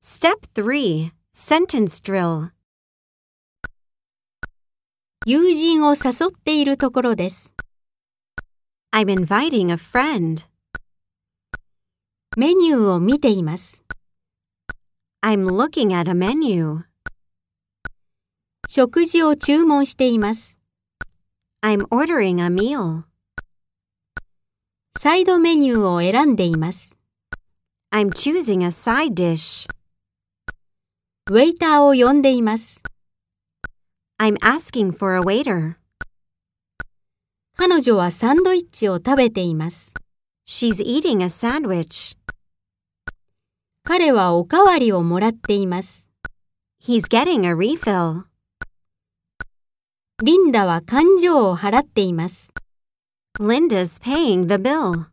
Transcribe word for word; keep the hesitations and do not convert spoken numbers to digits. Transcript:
Step three. Sentence drill. 友人を誘っているところです。 I'm inviting a friend. メニューを見ています。 I'm looking at a menu. 食事を注文しています。 I'm ordering a meal. サイドメニューを選んでいます。 I'm choosing a side dish. ウェイターを呼んでいます。 I'm asking for a waiter. 彼女はサンドイッチを食べています。 She's eating a sandwich. 彼はおかわりをもらっています。 He's getting a refill. リンダは勘定を払っています。 Linda's paying the bill.